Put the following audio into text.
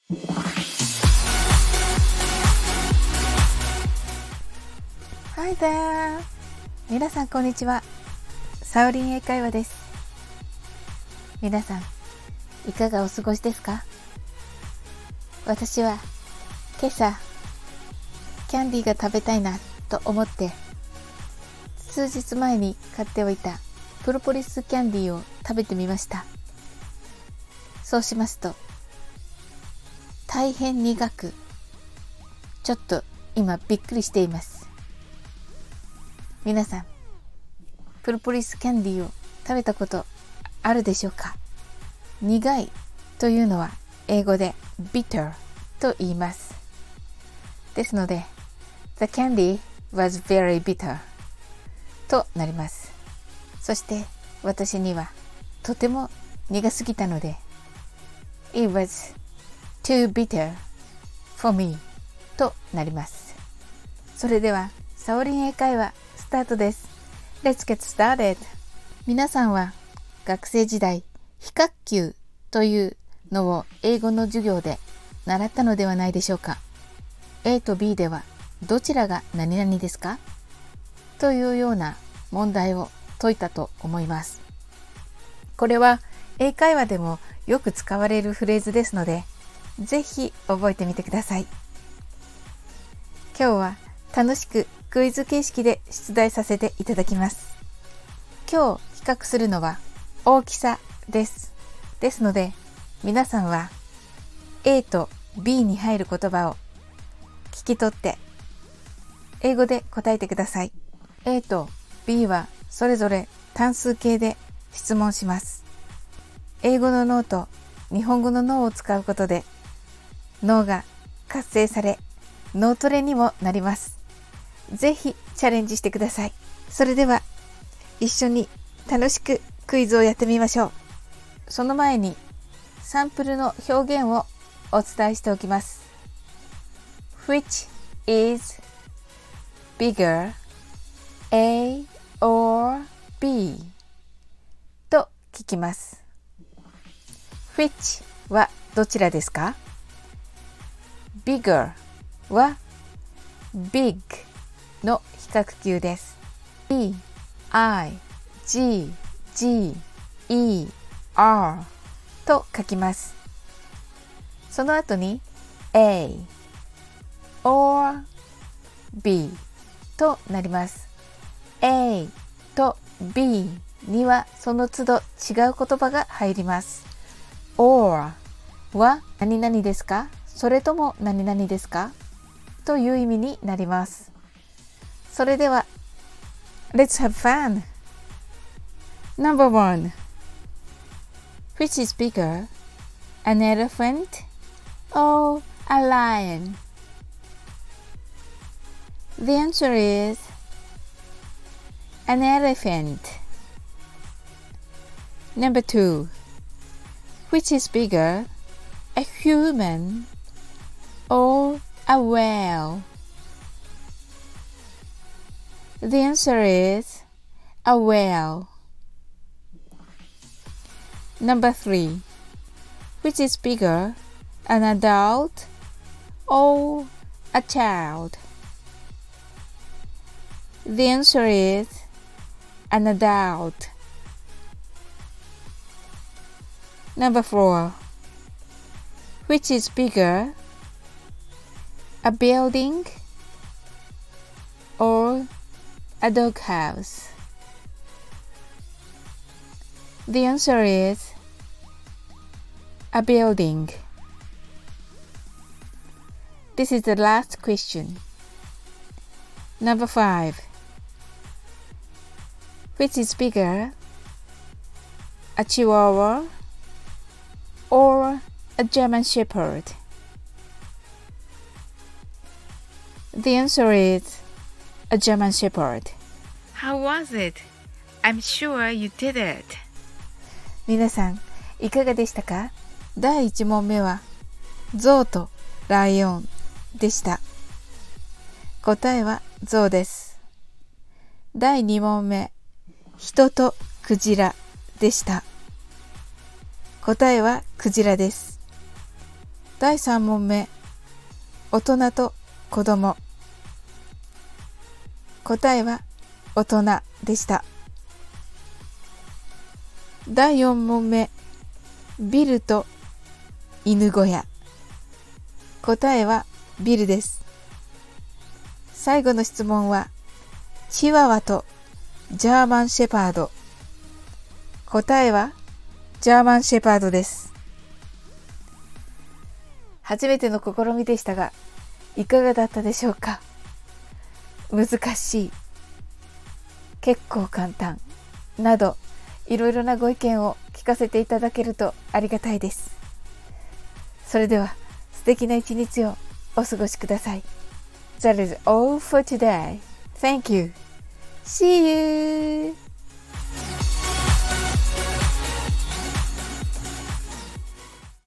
Hi there! 皆さんこんにちは。サオリン英会話です。皆さんいかがお過ごしですか？私は今朝キャンディーが食べたいなと思って数日前に買っておいたプロポリスキャンディーを食べてみました。そうしますと大変苦く、ちょっと今びっくりしています。皆さんプロポリスキャンディーを食べたことあるでしょうか？苦いというのは英語で bitter と言います。ですので The candy was very bitter となります。そして私にはとても苦すぎたので It was too bitter for me となります。それではサオリン英会話スタートです。Let's get started. 皆さんは学生時代非角球というのを英語の授業で習ったのではないでしょうか。 A と B ではどちらが何々ですかというような問題を解いたと思います。これは英会話でもよく使われるフレーズですのでぜひ覚えてみてください。今日は楽しくクイズ形式で出題させていただきます。今日比較するのは大きさです。ですので皆さんは A と B に入る言葉を聞き取って英語で答えてください。 A と B はそれぞれ単数形で質問します。英語の脳と日本語の脳を使うことで脳が活性され脳トレにもなります。ぜひチャレンジしてください。それでは一緒に楽しくクイズをやってみましょう。その前にサンプルの表現をお伝えしておきます。 Which is bigger, A or B? と聞きます。 Which はどちらですか？ Bigger は Big の比較級です。 B, I, G, G, E, R と書きます。その後に A or B となります。 A と B にはその都度違う言葉が入ります。 or は何々ですか？それとも何々ですか？という意味になります。それでは Let's have fun! Number 1. Which is bigger, an elephant or a lion? The answer is an elephant. Number 2. Which is bigger, a human or a whale? The answer is a whale. Number 3. Which is bigger, an adult or a child? The answer is an adult. Number 4. Which is bigger, a building or a doghouse? The answer is a building. This is the last question. Number 5. Which is bigger, a Chihuahua or a German Shepherd? The answer is a German Shepherd. How was it? I'm sure you did it. 皆さんいかがでしたか？第1問目は象とライオンでした。答えは象です。第2問目、人とクジラでした。答えはクジラです。 第3問目、大人と子供。答えは大人でした。第4問目、ビルと犬小屋。答えはビルです。最後の質問は、チワワとジャーマンシェパード。答えはジャーマンシェパードです。初めての試みでしたが、いかがだったでしょうか。難しい、結構簡単など、いろいろなご意見を聞かせていただけるとありがたいです。それでは素敵な一日をお過ごしください。That is all for today. Thank you. See you.